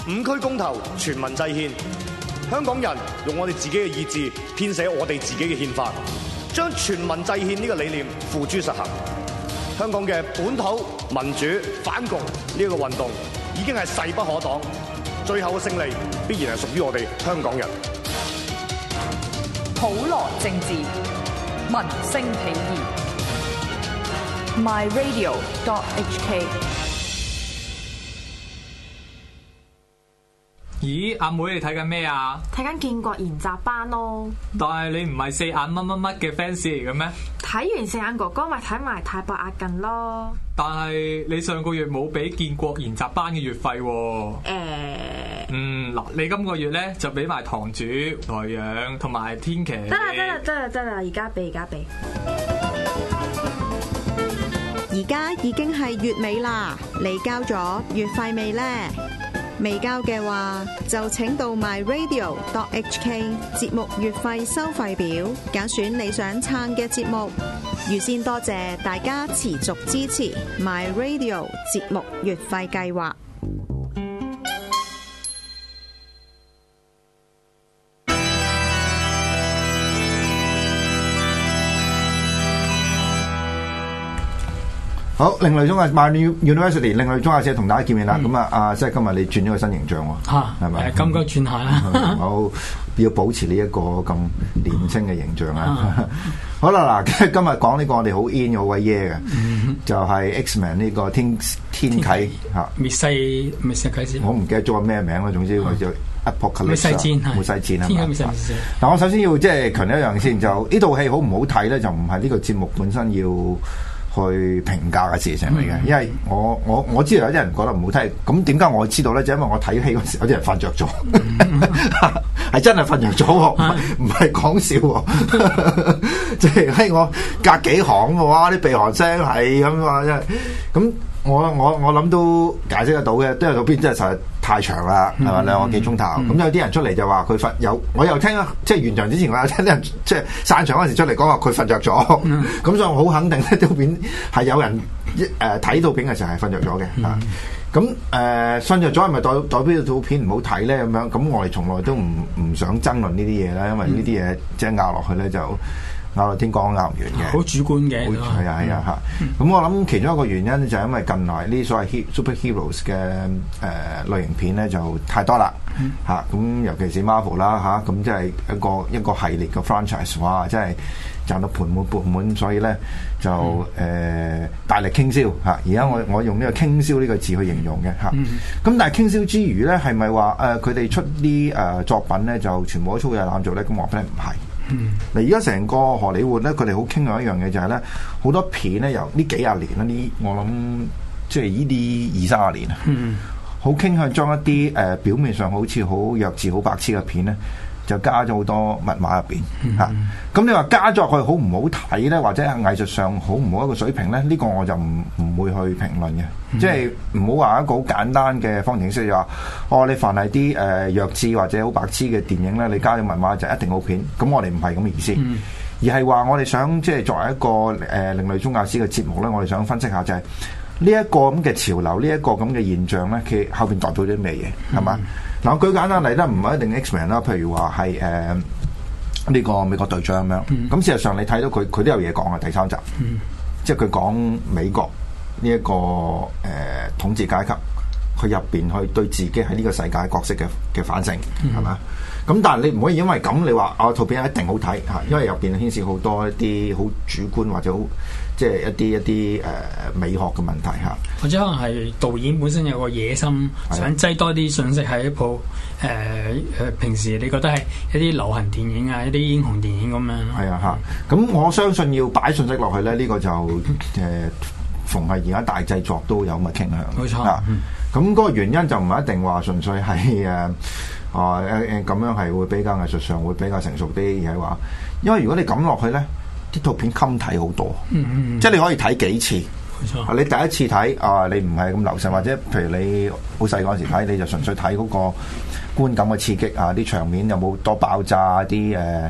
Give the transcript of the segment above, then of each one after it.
5區公投，全民制憲，香港人用我哋自己嘅意志編寫我哋自己嘅憲法，將全民制憲呢個理念付諸實行。香港嘅本土民主反共呢個運動已經係勢不可擋，最後嘅勝利必然係屬於我哋香港人。 普羅政治，民聲起義。myradio.hk。 咦，阿妹你睇緊咩啊？ 睇緊建國研習班咯。 但係你唔係四眼乜乜乜嘅 fans 嚟嘅咩？ 睇完四眼哥哥咪睇埋太白壓近咯。 但係你上個月冇俾建國研習班嘅月費喎。嗱，你今個月咧就俾埋堂主、台陽同埋天琪。 得啦，而家俾。 而家已經係月尾啦，你交咗月費未呢？未交嘅話，就請到 myradio.hk 節目月費收費表，揀選你想撐嘅節目。預先多謝大家持續支持 myradio 節目月費計劃。 好，另類中學 My University 另類中學社同大家見面啦。咁即係今日你轉咗個新形象喎，係咪？ 咁該轉下啦。 好，要保持呢一個咁年輕嘅形象啊。好啦，嗱，今日講呢個我哋好 in 好鬼耶嘅，就係 X-Men 呢個天啟嚇。滅世啟示。我唔記得咗個咩名啦，總之我就 Apocalypse。滅世戰係。滅世戰係嘛？但我首先要即係強調一樣先，就呢套戲好唔好睇咧，就唔係呢個節目本身要去評價嘅事情嚟嘅，因為我知道有啲人覺得唔好睇，咁點解我知道咧？就因為我睇戲嗰時有啲人瞓着咗，係真係瞓着咗，唔係講笑喎。即係喺我隔幾行嘅話，啲鼻鼾聲係咁話，即係咁。我諗都解釋得到嘅，都有套片真係實在太長啦，係嘛，2個幾鐘頭。咁有啲人出嚟就話佢我又聽即係完場之前我有聽啲人即係散場嗰陣時出嚟講話佢瞓着咗。咁所以我好肯定呢套片係有人睇套片嘅時候係瞓着咗嘅嚇。咁瞓着咗係咪代表套片唔好睇咧？咁樣咁我哋從來都唔想爭論呢啲嘢啦，因為呢啲嘢即係拗落去咧就拗落天講拗唔完嘅， 好主觀嘅。 係啊嚇。咁我諗其中一個原因就係因為近來呢所謂 superheroes 嘅類型片咧就太多啦嚇。咁尤其是 Marvel 啦嚇，咁即係一個系列嘅 franchise， 哇！真係賺到盆滿缽滿，所以咧就大力傾銷嚇。而家我用呢個傾銷呢個字去形容嘅嚇。咁但係傾銷之餘咧，係咪話佢哋出啲作品咧就全部都粗製濫造咧？咁我覺得唔係。嗱，而家成個荷里活咧，佢哋好傾向一樣嘢就係咧，好多片咧由呢幾廿年啦，我諗即係呢啲20-30年啊，好傾向將一啲表面上好似好弱智、好白痴嘅片咧，就加咗好多密碼入邊嚇。咁你話加咗去好唔好睇咧，或者係藝術上好唔好一個水平咧？呢個我就唔會去評論嘅。即係唔好話一個好簡單嘅方程式就話，你凡係啲弱智或者好白痴嘅電影咧，你加咗密碼就一定好片。咁我哋唔係咁嘅意思，而係話我哋想即係作為一個另類宗教史嘅節目咧，我哋想分析下就係呢一個咁嘅潮流，呢一個咁嘅現象咧，佢後邊代表啲咩嘢係嘛？嗱，我舉簡單例咧，唔係一定 X-Men 啦，譬如話係呢個美國隊長咁樣。咁事實上你睇到佢都有嘢講啊，第3集，即係佢講美國呢一個統治階級，佢入邊去對自己喺呢個世界角色嘅反省係嘛？咁但係你唔可以因為咁你話套片一定好睇嚇，因為入邊牽涉好多一啲好主觀或者好即係一啲美學嘅問題嚇， 或者可能係導演本身有個野心，想擠多啲信息喺一部平時你覺得係一啲流行電影啊、一啲英雄電影咁樣。 係啊嚇，咁我相信要擺信息落去咧，呢個就逢係而家大製作都有咁嘅傾向。 冇錯。 咁嗰個原因就唔係一定話純粹係咁樣係會比較藝術上會比較成熟啲，而係話，因為如果你咁落去咧，啲套片襟睇好多，即係你可以睇幾次。 冇錯。 你第一次睇你唔係咁留神，或者譬如你好細嗰陣時睇，你就純粹睇嗰個觀感嘅刺激啊，啲場面有冇多爆炸啲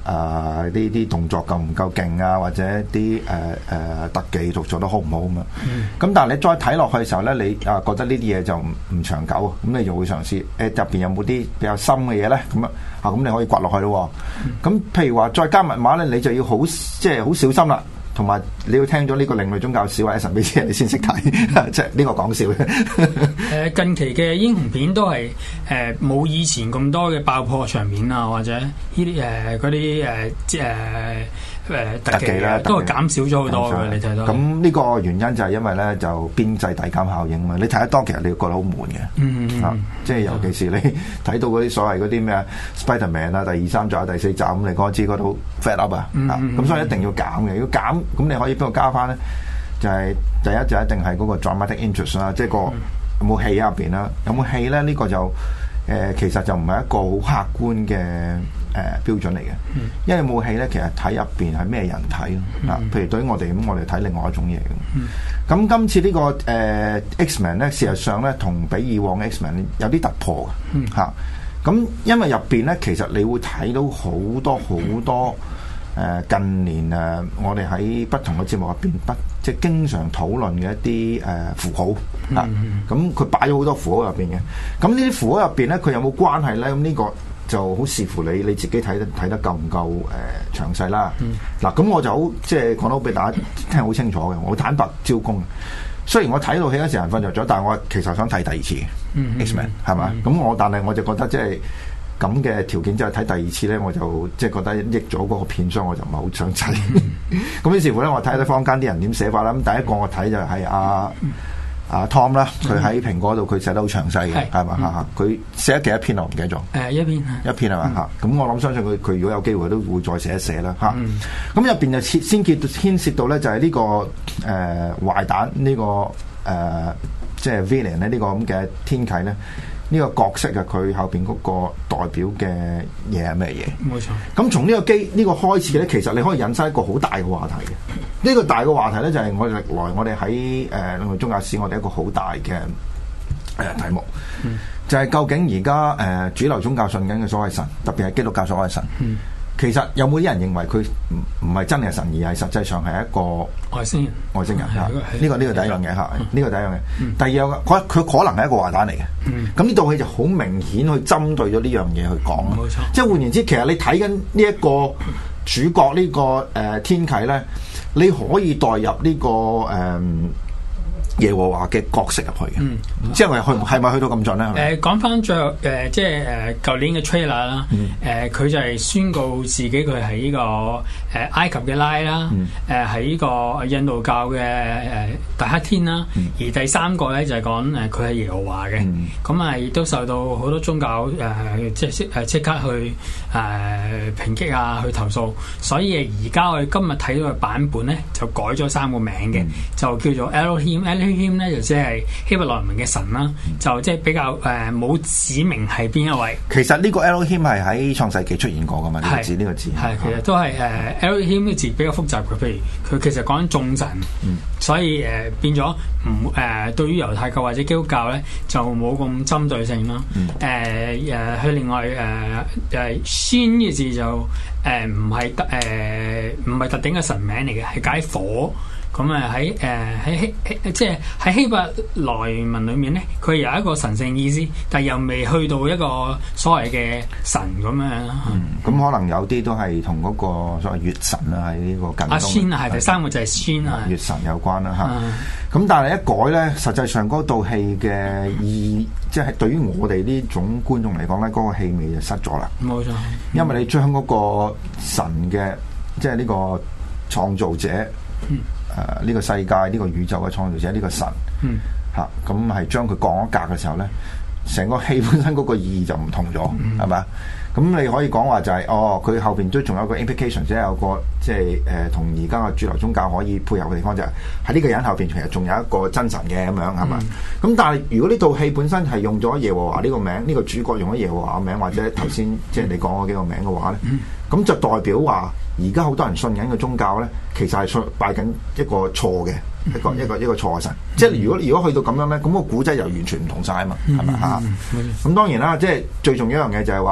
啲動作夠唔夠勁啊，或者啲特技做得好唔好咁啊？咁但係你再睇落去嘅時候咧，你覺得呢啲嘢就唔長久啊，咁你就會嘗試入邊有冇啲比較深嘅嘢咧？咁咁你可以掘落去咯。咁譬如話再加密碼咧，你就要好小心啦。同埋你要聽咗呢個另類宗教史或者神秘之人，你先識睇，即係呢個講笑嘅。 近期嘅英雄片都係冇以前咁多嘅爆破場面啊，或者呢啲嗰啲特技啦，都係減少咗好多嘅。你睇到咁呢個原因就係因為咧就邊際遞減效應嘛。你睇得多其實你會覺得好悶嘅，即係尤其是你睇到嗰啲所謂嗰啲咩 Spider-Man 啊，第2、3集、第4集咁，你講知嗰度 fat up 啊，咁所以一定要減嘅。要減咁你可以邊度加翻咧？就係第一就一定係嗰個 dramatic interest 啦，即係個有冇戲喺入邊啦？有冇戲咧？呢個就其實就唔係一個好客觀嘅標準嚟嘅，因為有冇戲咧，其實睇入邊係咩人睇咯。譬如對於我哋咁，我哋睇另外一種嘢嘅。咁今次呢個X-Men 咧，事實上咧同比以往嘅 X-Men 有啲突破嘅嚇。咁因為入邊咧，其實你會睇到好多。近年我哋喺不同嘅節目入邊，即係經常討論嘅一啲符號啊，咁佢擺咗好多符號入邊嘅。咁呢啲符號入邊咧，佢有冇關係咧？咁呢個就好視乎你自己睇得夠唔夠詳細啦。嗱，咁我就好即係講到俾大家聽好清楚嘅。我坦白招供，雖然我睇到戲嗰時人瞓着咗，但係我其實想睇第二次嘅 X-Men 係嘛？咁但係我就覺得即係。咁嘅條件之後睇第二次咧，我就即係覺得益咗嗰個片商，我就唔係好想睇。咁於是乎咧，我睇下坊間啲人點寫法啦。咁第一個我睇就係阿 Tom 啦，佢喺蘋果度佢寫得好詳細嘅，係嘛？佢寫咗幾多篇我唔記得咗。一篇係嘛嚇？咁我諗相信佢如果有機會都會再寫一寫啦嚇。咁入邊就先牽涉到咧就係呢個壞蛋呢個即係 Villain 咧呢個咁嘅天啟咧。呢個角色啊，佢後邊嗰個代表嘅嘢係咩嘢？冇錯。咁從呢個開始咧，其實你可以引申一個好大嘅話題嘅。呢個大嘅話題咧，就係我哋歷來我哋喺另類宗教史，我哋一個好大嘅題目，就係究竟而家主流宗教信緊嘅所謂神，特別係基督教所謂神。其實有冇啲人認為佢唔係真係神，而係實際上係一個外星人嚇？呢個第一樣嘢嚇，呢個第一樣嘢。第二樣佢可能係一個壞蛋嚟嘅。咁呢套戲就好明顯去針對咗呢樣嘢去講。冇錯。即係換言之，其實你睇緊呢一個主角呢個天啟咧，你可以代入呢個耶和華嘅角色入去嘅，即係係咪去到咁盡咧？ 講翻最後即係舊年嘅 trailer 啦，佢就係宣告自己佢係呢個埃及嘅拉啦，喺呢個印度教嘅大黑天啦，而第三個咧就係講佢係耶和華嘅，咁啊亦都受到好多宗教即刻去抨擊啊，去投訴，所以而家我哋今日睇到嘅版本咧就改咗3個名嘅，就叫做 Elohim 咧就即係希伯來文嘅神啦，就即係比較冇指明係邊一位。 其實呢個 Elohim 係喺創世紀出現過噶嘛？呢個字係其實都係Elohim 呢個字比較複雜嘅，譬如佢其實講緊眾神，所以變咗唔對於猶太教或者基督教咧就冇咁針對性咯。佢另外先嘅字就唔係特定嘅神名嚟嘅，係解火。咁喺即係喺希伯來文裏面咧，佢有一個神聖意思，但係又未去到一個所謂嘅神咁樣。 咁可能有啲都係同嗰個所謂月神啊，喺呢個近東。 先係第三個就係先啊， 月神有關啦嚇。咁但係一改咧，實際上嗰套戲嘅意，即係對於我哋呢種觀眾嚟講咧，嗰個氣味就失咗啦。冇錯，因為你將嗰個神嘅，即係呢個創造者。呢個世界呢個宇宙嘅創造者呢個神嚇，咁係將佢降一格嘅時候咧，成個戲本身嗰個意義就唔同咗，係咪？咁你可以講話就係佢後邊都仲有個 implication，即係有個即係同而家嘅主流宗教可以配合嘅地方，就係喺呢個人後邊其實仲有一個真神嘅咁樣，係嘛？咁但係如果呢套戲本身係用咗耶和華呢個名，呢個主角用咗耶和華嘅名，或者頭先即係你講嗰幾個名嘅話咧，咁就代表話而家好多人信緊嘅宗教咧，其實係拜緊一個錯嘅一個錯嘅神。即係如果去到咁樣咧，咁個古仔又完全唔同晒啊嘛，係咪啊？咁當然啦，即係最重要一樣嘢就係話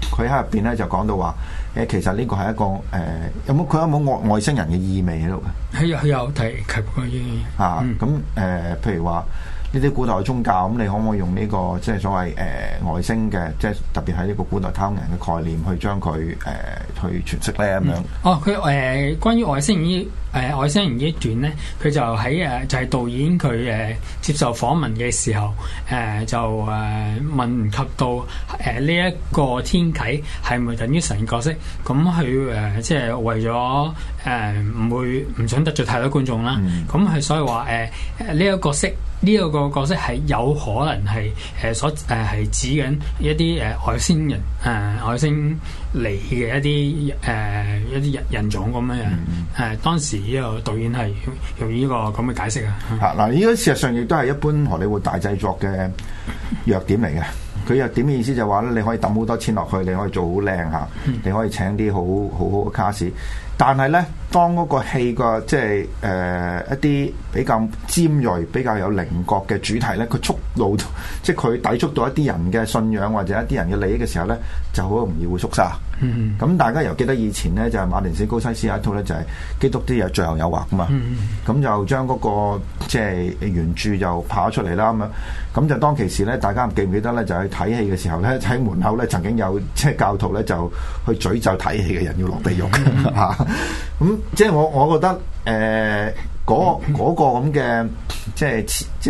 佢喺入邊咧就講到話其實呢個係一個有冇外星人嘅意味喺度嘅？ 佢有提及過呢樣嘢。 咁譬如話呢啲古代宗教，咁你可唔可以用呢個即係所謂外星嘅，即係特別係呢個古代太空人嘅概念去將佢去詮釋咧咁樣？ 佢關於外星人外星人呢一段咧，佢就喺就係導演佢接受訪問嘅時候就問及到呢一個天啟係咪等於神角色？咁佢即係為咗唔想得罪太多觀眾啦。咁佢所以話呢一個角色。呢一個角色係有可能係係指緊一啲外星人外星嚟嘅一啲人種咁樣樣。當時呢個導演係用呢個咁嘅解釋啊。 嗱，呢個事實上亦都係一般荷里活大製作嘅弱點嚟嘅。佢弱點嘅意思就係話咧，你可以抌好多錢落去，你可以做好靚嚇，你可以請啲好嘅卡士。但係咧，當嗰個戲個即係一啲比較尖鋭、比較有稜角嘅主題咧，佢觸怒即係佢抵觸到一啲人嘅信仰或者一啲人嘅利益嘅時候咧，就好容易會縮沙。咁大家又記得以前咧，就係馬田史高西斯有一套咧，就係基督啲最後誘惑噶嘛。咁就將嗰個即係原著就跑出嚟啦咁樣。咁就當其時咧，大家記唔記得咧？就去睇戲嘅時候咧，喺門口咧曾經有即係教徒咧就去詛咒睇戲嘅人要落地獄嚇。咁即係我覺得嗰個咁嘅即係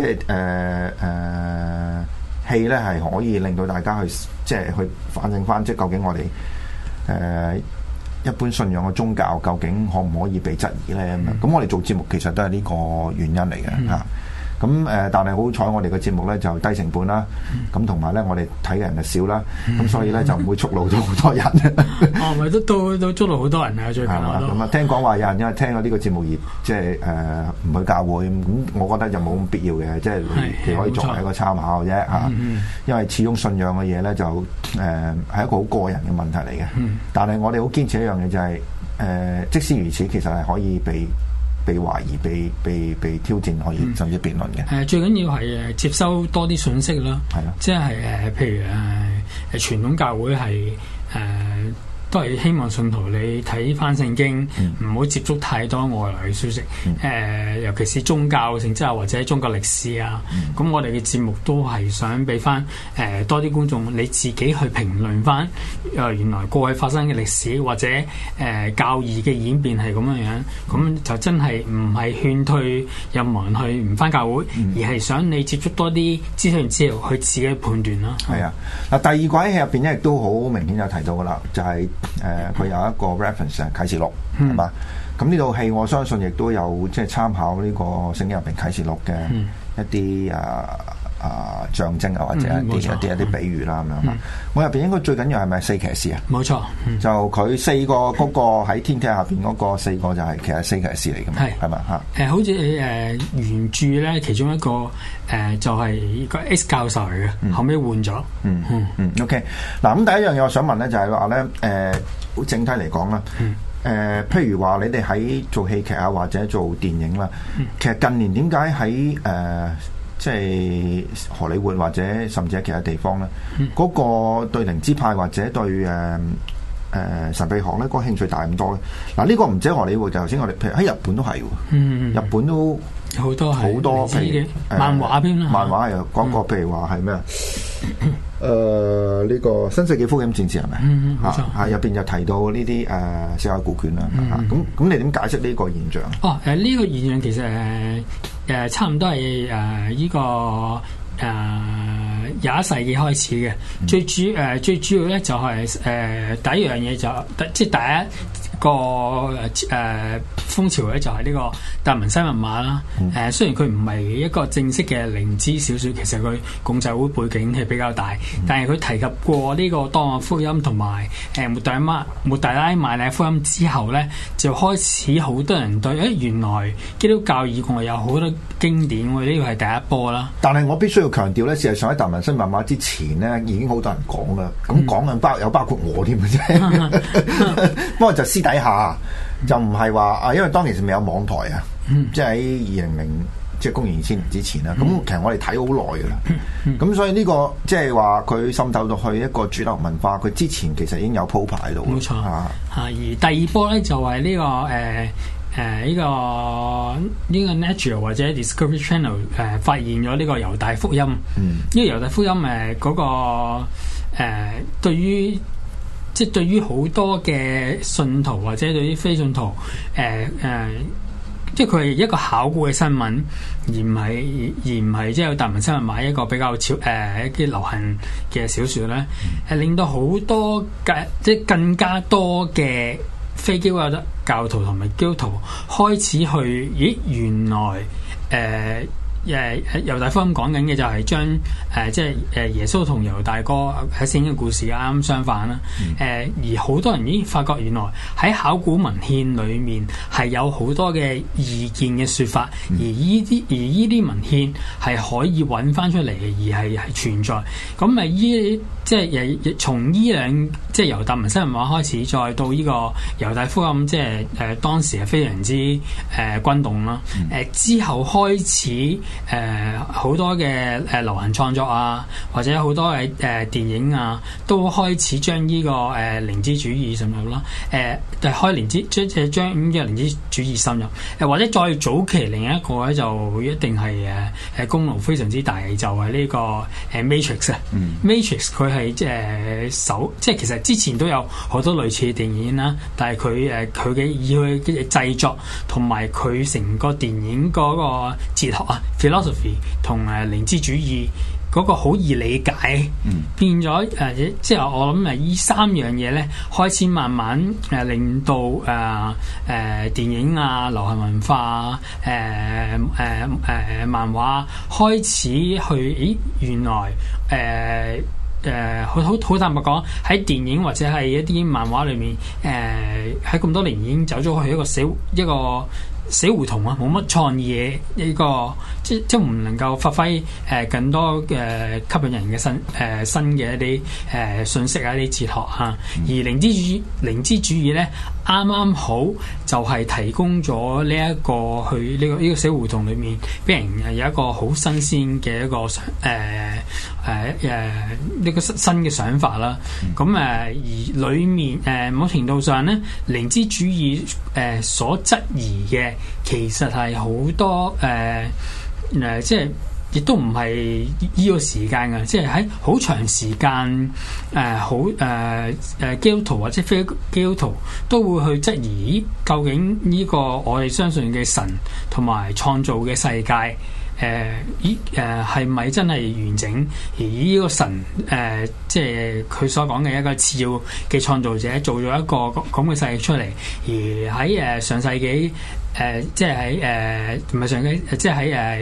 戲咧係可以令到大家去即係去反映翻，即係究竟我哋一般信仰嘅宗教究竟可唔可以被質疑咧？咁我哋做節目其實都係呢個原因嚟嘅嚇。咁但係好彩我哋嘅節目咧就低成本啦，咁同埋咧我哋睇嘅人就少啦，咁所以咧就唔會觸怒到好多人。 咪都觸怒好多人啊！最近咁啊，聽講話有人因為聽咗呢個節目而即係唔去教會，咁我覺得就冇咁必要嘅，即係你可以作為一個參考啫嚇。因為始終信仰嘅嘢咧就係一個好個人嘅問題嚟嘅。但係我哋好堅持一樣嘢就係即使如此，其實係可以被懷疑、被挑戰，可以甚至辯論嘅。 最緊要係接收多啲信息啦。係咯，即係譬如傳統教會係都係希望信徒你睇翻聖經，唔好接觸太多外來嘅消息。尤其是宗教性質啊，或者宗教歷史啊。咁我哋嘅節目都係想俾翻多啲觀眾你自己去評論翻原來過去發生嘅歷史，或者教義嘅演變係咁樣樣。咁就真係唔係勸退任何人去唔翻教會，而係想你接觸多啲資訊之後去自己判斷咯。 係啊，嗱第二季喺入邊咧亦都好明顯有提到噶啦，就係佢有一個 reference 啟示錄係嘛？咁呢套戲我相信亦都有即係參考呢個聖經入邊啟示錄嘅一啲象徵啊，或者一啲比喻啦咁樣。我入邊應該最緊要係咪四騎士啊？ 冇錯， 就佢四個嗰個喺天梯下邊嗰個四個就係其實四騎士嚟嘅嘛，係咪嚇？ 好似原著咧，其中一個就係個 X 教授嚟嘅，後尾換咗。 OK， 嗱咁第一樣嘢我想問咧，就係話咧好整體嚟講啦。譬如話你哋喺做戲劇啊，或者做電影啦，其實近年點解喺即係荷里活或者甚至喺其他地方咧，嗰個對靈知派或者對神秘學咧，嗰個興趣大咁多咧？嗱，呢個唔止荷里活，就頭先我哋譬如喺日本都係喎，日本都好多譬如漫畫篇啦， 漫畫又講過，譬如話係咩啊？呢個新世紀福音戰士係咪？ 冇錯， 係入邊就提到呢啲死海古卷啦。咁你點解釋呢個現象？ 呢個現象其實差唔多係呢個21世紀開始嘅。最主要咧就係第一樣嘢即係第一個風潮咧就係呢個達文西密碼啦。雖然佢唔係一個正式嘅靈知小說，其實佢共濟會背景係比較大，但係佢提及過呢個當亞福音同埋抹大拉馬利亞福音之後咧，就開始好多人對原來基督教以外有好多經典，呢個係第一波啦。 但係我必須要強調咧，事實上喺達文西密碼之前咧，已經好多人講啦。咁講緊包括我添嘅啫。不過就私底下就唔係話因為當其時未有網台啊，即係喺即係公元2000年之前啦。咁其實我哋睇好耐噶啦。咁所以呢個即係話佢滲透到去一個主流文化，佢之前其實已經有鋪排喺度。 冇錯而第二波咧就係呢個呢個 Natural 或者 Discovery Channel 發現咗呢個猶大福音。呢個猶大福音嗰個對於好多嘅信徒或者對於非信徒即係佢係一個考古嘅新聞，而唔係即係有達文西密碼一個比較一啲流行嘅小說咧，令到好多即係更加多嘅非基督教徒同埋基督徒開始去，原來猶大福音講緊嘅就係將即係耶穌同猶大哥喺聖經嘅故事啱啱相反啦。而好多人已經發覺原來喺考古文獻裏面係有好多嘅意見嘅説法，而依啲文獻係可以揾翻出嚟嘅，而係存在。咁即係從依兩即係由達文西密碼開始，再到呢個猶大福音，即係當時係非常之轟動啦。之後開始好多嘅流行創作啊，或者好多嘅電影啊，都開始將呢個靈知主義滲入啦。開靈知將呢個靈知主義滲入，或者再早期另一個咧就一定係功勞非常之大，就係呢個Matrix 啊。Matrix 佢係即係其實之前都有好多類似嘅電影啦，但係佢嘅以佢嘅製作同埋佢成個電影嗰個哲學啊 philosophy 同靈知主義嗰個好易理解，變咗即係我諗呢三樣嘢咧，開始慢慢令到電影啊、流行文化漫畫開始去，原來好坦白講，喺電影或者係一啲漫畫裏面，喺咁多年已經走咗去一個死胡同啊，冇乜創意嘅呢個，即唔能夠發揮更多嘅吸引人嘅新嘅一啲信息啊，一啲哲學啊。而靈知主義咧，啱啱好就係提供咗呢一個去呢個死胡同裏面，俾人有一個好新鮮嘅一個呢個新嘅想法啦。咁而裏面某程度上咧，靈知主義所質疑嘅其實係好多即係亦都唔係呢個時間嘅，即係喺好長時間基督徒或者非基督徒都會去質疑究竟呢個我哋相信嘅神同埋創造嘅世界係咪真係完整？而呢個神即係佢所講嘅一個次要嘅創造者，做咗一個咁嘅世界出嚟。而喺上世紀即係喺唔係上紀，即係喺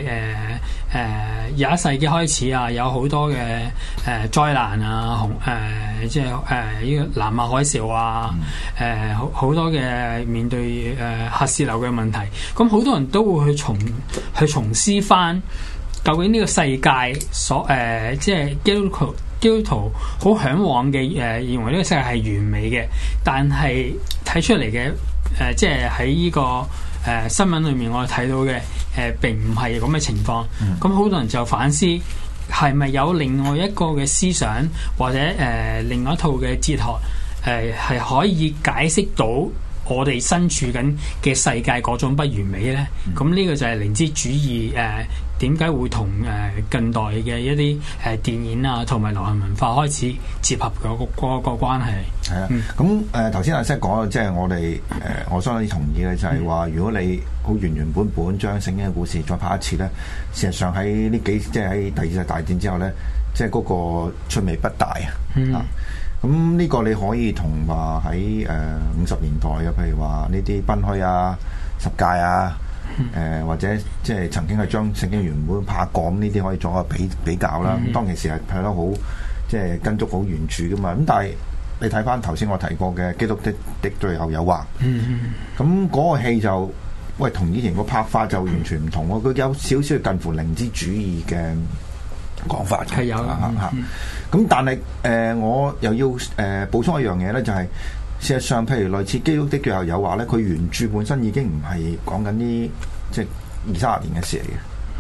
21世紀開始啊，有好多嘅災難啊，即係呢個南亞海嘯啊，好多嘅面對核洩漏嘅問題，咁好多人都會去重思翻究竟呢個世界即係基督徒好向往嘅認為呢個世界係完美嘅，但係睇出嚟嘅即係喺呢個新聞裏面我哋睇到嘅並唔係咁嘅情況。咁好多人就反思係咪有另外一個嘅思想或者另外一套嘅哲學係可以解釋到我哋身處緊嘅世界嗰種不完美咧？咁呢個就係靈知主義點解會同近代嘅一啲電影啊同埋流行文化開始結合嗰個關係。係啊， 咁頭先阿 Sir 講，即係我哋我相當之同意嘅，就係話如果你好原本將聖經嘅故事再拍一次咧，事實上喺呢幾即係喺第二次大戰之後咧，即係嗰個趣味不大啊。咁呢個你可以同話喺50年代嘅，譬如話呢啲賓虛啊、十戒啊。或者即係曾經係將聖經原本拍過，呢啲可以做個比較啦。咁當其時係拍得好，即係跟足好原著噶嘛。咁但係你睇翻頭先我提過嘅《基督的最後誘惑》，咁嗰個戲就同以前個拍法就完全唔同喎。佢有少少近乎靈知主義嘅講法嘅，係有嚇。咁但係我又要補充一樣嘢咧，就係。事實上，譬如類似《基督的最後誘惑》咧，佢原著本身已經唔係講緊啲即係20-30年嘅事嚟嘅。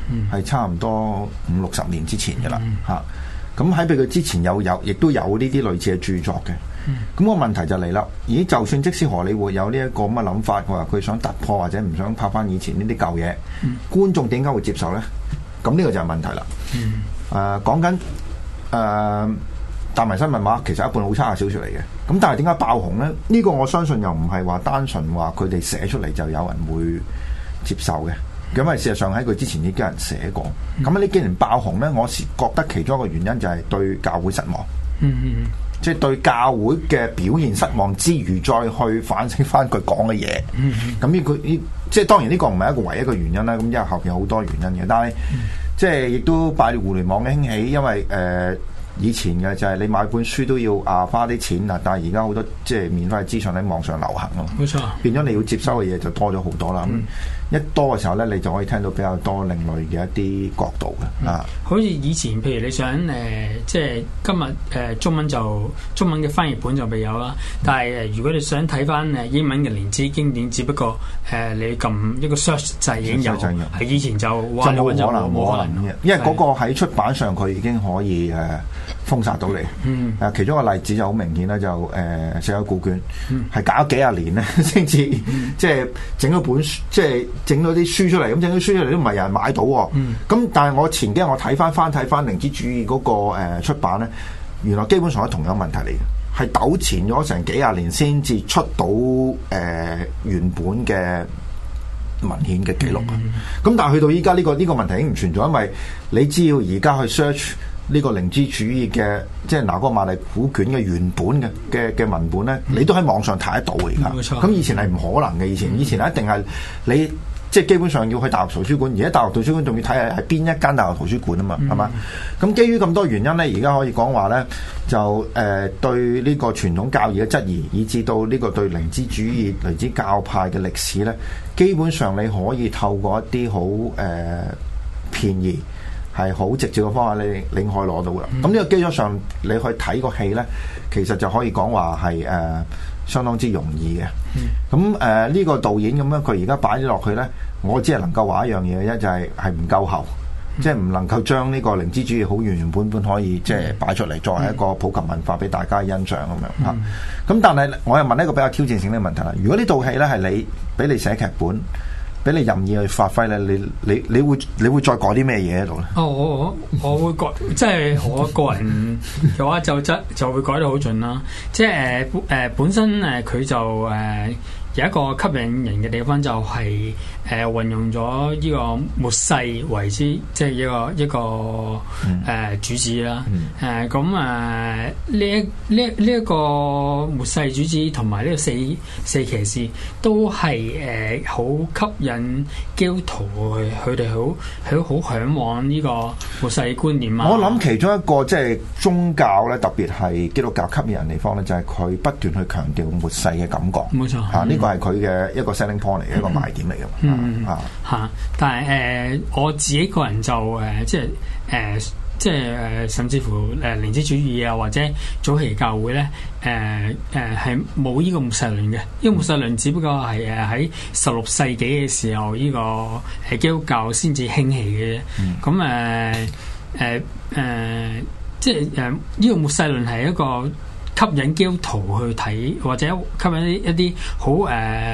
係差唔多50-60年之前嘅啦嚇。咁喺佢之前亦都有呢啲類似嘅著作嘅。咁個問題就嚟啦，咦？就算即使荷里活有呢一個咁嘅諗法，話佢想突破或者唔想拍翻以前呢啲舊嘢，觀眾點解會接受咧？咁呢個就係問題啦。講緊達文西密碼其實一本好差嘅小說嚟嘅，咁但係點解爆紅咧？呢個我相信又唔係話單純話佢哋寫出嚟就有人會接受嘅，因為事實上喺佢之前已經有人寫過。咁呢幾年爆紅咧，我覺得其中一個原因就係對教會失望。即係對教會嘅表現失望之餘，再去反省翻佢講嘅嘢。咁即係當然呢個唔係一個唯一嘅原因啦。咁因為後邊有好多原因嘅，但係即係亦都拜互聯網嘅興起，因為以前嘅就係你買本書都要花啲錢啊，但係而家好多即係免費嘅資訊喺網上流行咯。冇錯，變咗你要接收嘅嘢就多咗好多啦。一多嘅時候咧，你就可以聽到比較多另類嘅一啲角度嘅啊。 好似以前，譬如你想即係今日中文嘅翻譯本就未有啦。但係如果你想睇翻英文嘅連枝經典，只不過你撳一個 search 掣已經有，係以前就冇可能嘅， 因為嗰個喺出版上佢已經可以封殺到你。其中一個例子就好明顯啦，就《死海古卷》係搞咗幾廿年咧，先至即係整咗本書，即係整咗啲書出嚟。咁整咗書出嚟都唔係有人買到喎。咁但係我前幾日我睇翻靈知主義嗰個出版咧，原來基本上係同樣問題嚟嘅，係糾纏咗成幾廿年先至出到原本嘅文獻嘅記錄啊。咁但係去到依家呢個問題已經唔存在，因為你只要而家去 search 呢個靈知主義嘅，即係拿戈馬利古卷嘅原本嘅文本咧，你都喺網上睇得到嘅而家。咁以前係唔可能嘅，以前一定係你即係基本上要去大學圖書館，而家大學圖書館仲要睇係邊一間大學圖書館啊嘛，係嘛？咁基於咁多原因咧，而家可以講話咧，就對呢個傳統教義嘅質疑，以至到呢個對靈知主義、靈知教派嘅歷史咧，基本上你可以透過一啲好便宜係好直接嘅方法，你可以攞到嘅。咁呢個基礎上，你去睇個戲咧，其實就可以講話係相當之容易嘅。咁呢個導演咁樣，佢而家擺咗落去咧，我只係能夠話一樣嘢嘅啫，就係唔夠厚，即係唔能夠將呢個靈知主義好原本可以即係擺出嚟，作為一個普及文化俾大家欣賞咁樣嚇。咁但係我又問一個比較挑戰性嘅問題啦。如果呢套戲咧係你俾你寫劇本，俾你任意去發揮咧，你會再改啲咩嘢喺度咧？ 我會改，即係我個人嘅話就會改得好盡啦。即係本身佢就有一個吸引人嘅地方，就係運用咗呢個末世為之，即係一個主旨啦。咁呢一個末世主旨同埋呢個四騎士都係好吸引基督徒，佢哋好向往呢個末世觀念啊。 我諗其中一個即係宗教咧，特別係基督教吸引人地方咧，就係佢不斷去強調末世嘅感覺。冇錯，呢個係佢嘅一個 selling point 嚟嘅，一個賣點嚟嘅。 但係我自己個人就即係甚至乎靈知主義啊，或者早期教會咧，係冇呢個末世論嘅。呢個末世論只不過係喺16世紀嘅時候，呢個基督教先至興起嘅啫。咁即係呢個末世論係一個吸引基督徒去睇，或者吸引一啲好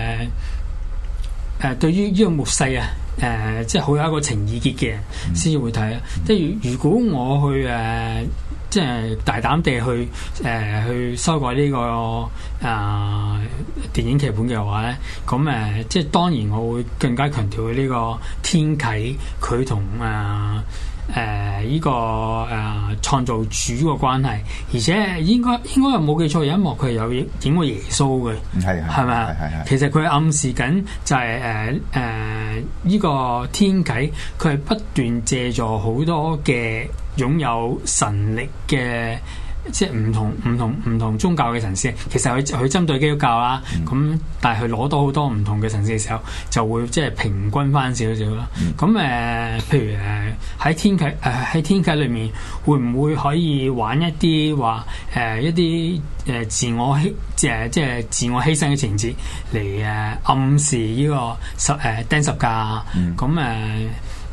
對於呢個末世啊，即係好有一個情意結嘅人先至會睇啊。即係如果我去即係大膽地去修改呢個電影劇本嘅話咧，咁即係當然我會更加強調呢個天啟佢同呢個創造主個關係，而且應該又冇記錯，有一幕佢係有影過耶穌嘅，係咪啊？其實佢暗示緊就係呢個天啟，佢係不斷借助好多嘅擁有神力嘅。即係唔同宗教嘅神師，其實佢針對基督教啦，咁但係佢攞到好多唔同嘅神師嘅時候，就會即係平均翻少少啦。咁譬如喺天啟裏面，會唔會可以玩一啲話一啲自我即係自我犧牲嘅情節嚟暗示呢個釘十架咁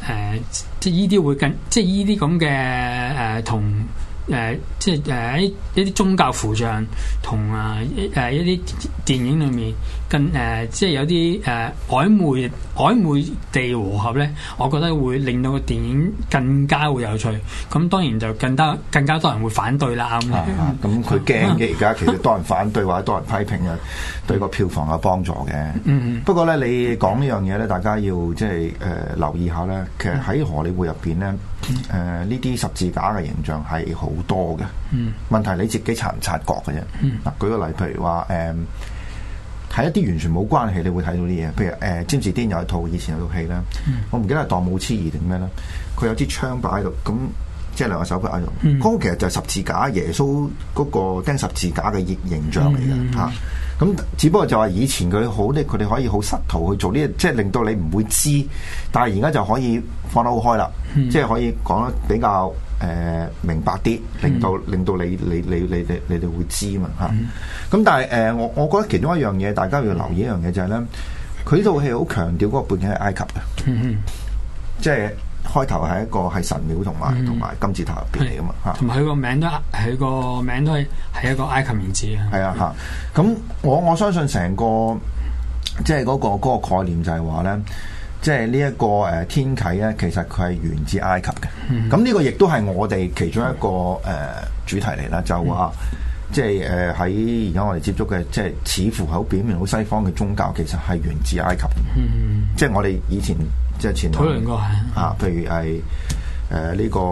即係依啲會即係依啲咁嘅同。即係一啲宗教符像同一啲電影裏面即係有啲曖昧地和合咧，我覺得會令到個電影更加會有趣。咁當然就更加多人會反對啦。咁佢驚嘅而家其實多人反對或者多人批評嘅，對個票房有幫助嘅。不過咧，你講呢樣嘢咧，大家要即係留意下咧。其實喺荷里活入邊咧，呢啲十字架嘅形象係好多嘅。問題你自己察唔察覺嘅啫。嗱，舉個例，譬如話睇一啲完全冇關係，你會睇到啲嘢。譬如詹士甸有一套以前有套戲咧，我唔記得係當武痴兒定咩咧，佢有支槍擺喺度，咁即係兩個手擺喺度。嗰個其實就係十字架，耶穌嗰個釘十字架嘅形象嚟嘅嚇。咁只不過就話以前佢哋可以好失途去做呢，即係令到你唔會知，但係而家就可以放得好開啦，即係可以講得比較明白啲，令到你哋會知嘛嚇。咁但係我覺得其中一樣嘢，大家要留意一樣嘢就係咧，佢呢套戲好強調嗰個背景係埃及嘅，即係開頭係一個係神廟同埋金字塔入邊嚟噶嘛嚇， 同埋佢個名都係一個埃及名字啊。係啊嚇，咁我相信成個即係嗰個概念就係話咧，即係呢一個天啟咧，其實佢係源自埃及嘅。咁呢個亦都係我哋其中一個主題嚟啦，就話即係喺而家我哋接觸嘅，即係似乎好表面好西方嘅宗教，其實係源自埃及。即係我哋以前。即係前討論過係譬如係呢個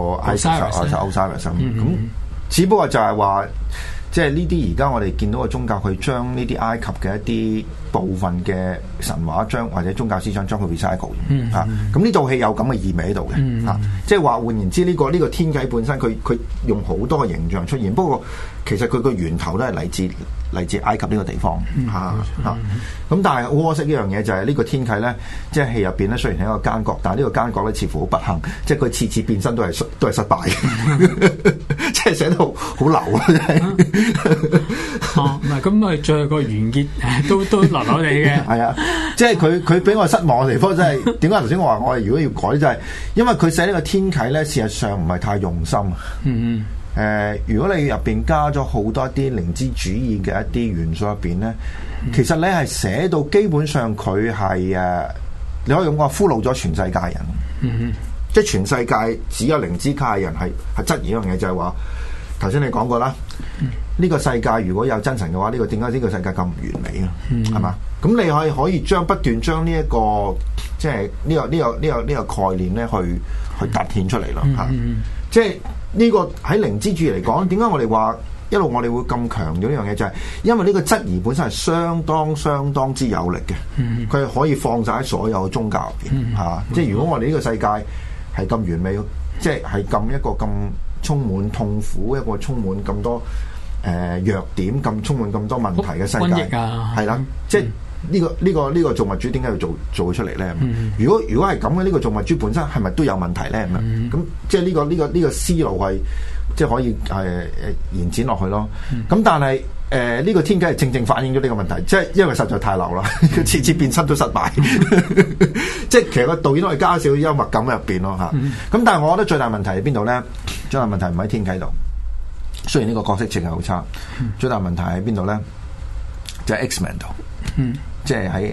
Osiris 咁，只不過就係話，即係呢啲而家我哋見到嘅宗教，佢將呢啲埃及嘅一啲部分嘅神話或者宗教思想將佢 recycle 嚇。咁呢套戲有咁嘅意味喺度嘅嚇，即係話換言之，呢個天啟本身佢用好多嘅形象出現，不過其實佢個源頭都係嚟自埃及呢個地方嚇。咁但係好可惜一樣嘢就係呢個天啟咧，即係戲入邊咧，雖然係一個奸角，但係呢個奸角咧似乎好不幸，即係佢次次變身都係失敗嘅，即係寫到好流啊！真係唔係咁咪最後個完結都流流地嘅。 係啊，即係佢俾我失望嘅地方，真係點解頭先我話我哋如果要改就係因為佢寫呢個天啟咧，事實上唔係太用心。如果你入邊加咗好多啲靈知主義嘅一啲元素入邊咧，其實你係寫到基本上佢係你可以咁講，俘虜咗全世界人。即係全世界只有靈知界嘅人係質疑一樣嘢，就係話頭先你講過啦，呢個世界如果有真神嘅話，呢個點解呢個世界咁唔完美啊？係嘛？咁你可以不斷將呢一個即係呢個概念咧去凸顯出嚟咯嚇。即係呢個喺靈知主義嚟講，點解我哋話一路我哋會咁強調呢樣嘢，就係因為呢個質疑本身係相當之有力嘅，佢係可以放晒喺所有嘅宗教入邊嚇。即係如果我哋呢個世界係咁完美，即係咁一個咁充滿痛苦，一個充滿咁多弱點，咁充滿咁多問題嘅世界，係啦，即係呢個造物主點解要做出嚟咧？如果係咁嘅，呢個造物主本身係咪都有問題咧？咁即係呢個思路係即係可以延展落去咯。咁但係呢個天啟係正正反映咗呢個問題，即係因為實在太流啦，佢次次變身都失敗。即係其實個導演可以加少幽默感喺入邊咯嚇。咁但係我覺得最大問題喺邊度咧？最大問題唔喺天啟度，雖然呢個角色設計好差，最大問題喺邊度咧？就係 X-Men 度。即係喺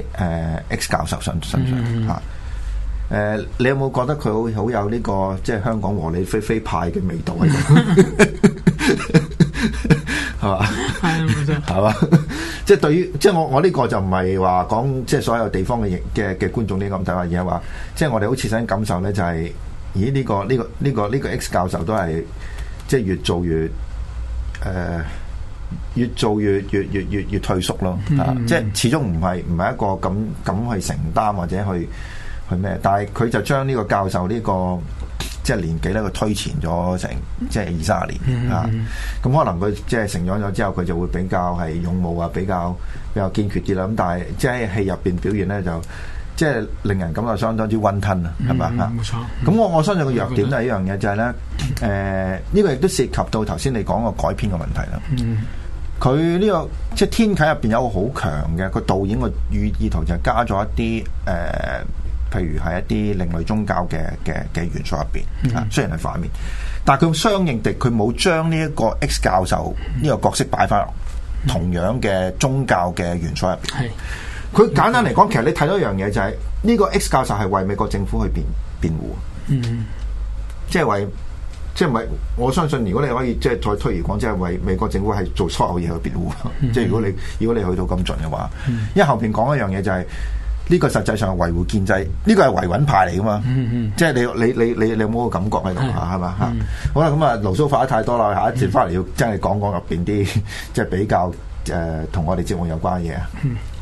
X 教授身上嚇。你有冇覺得佢好有呢個即係香港和理非非派嘅味道喺度？係嘛？係嘛？即係對於即係我呢個就唔係話講即係所有地方嘅觀眾呢個咁睇法，而係話即係我哋好切身感受咧，就係咦呢個 X 教授都係即係越做越退縮咯。即係始終唔係一個咁去承擔或者去咩，但係佢就將呢個教授呢個即係年紀咧，佢推前咗成即係20-30年啊。咁可能佢即係成長咗之後，佢就會比較係勇武啊，比較堅決啲啦。咁但係即係戲入邊表現咧，就即係令人感覺相當之溫吞啊，係咪啊？冇錯。咁我相信個弱點都係一樣嘢，就係咧呢個亦都涉及到頭先你講個改編嘅問題啦。佢呢個即係天啟入邊有個好強嘅個導演個意圖，就係加咗一啲譬如係一啲另類宗教嘅元素入邊啊，雖然係反面，但係佢相應地佢冇將呢一個 X 教授呢個角色擺翻落同樣嘅宗教嘅元素入邊。係佢簡單嚟講，其實你睇到一樣嘢就係呢個 X 教授係為美國政府去辯護，即係為。即係唔係？我相信如果你可以即係再推而廣，即係為美國政府係做所有嘢去辯護。即係如果你去到咁盡嘅話，因為後邊講一樣嘢就係呢個實際上係維護建制，呢個係維穩派嚟噶嘛。即係你有冇個感覺喺度啊？係嘛嚇？好啦，咁啊，牢騷發得太多啦，下一節翻嚟要真係講入邊啲即係比較同我哋節目有關嘅嘢啊。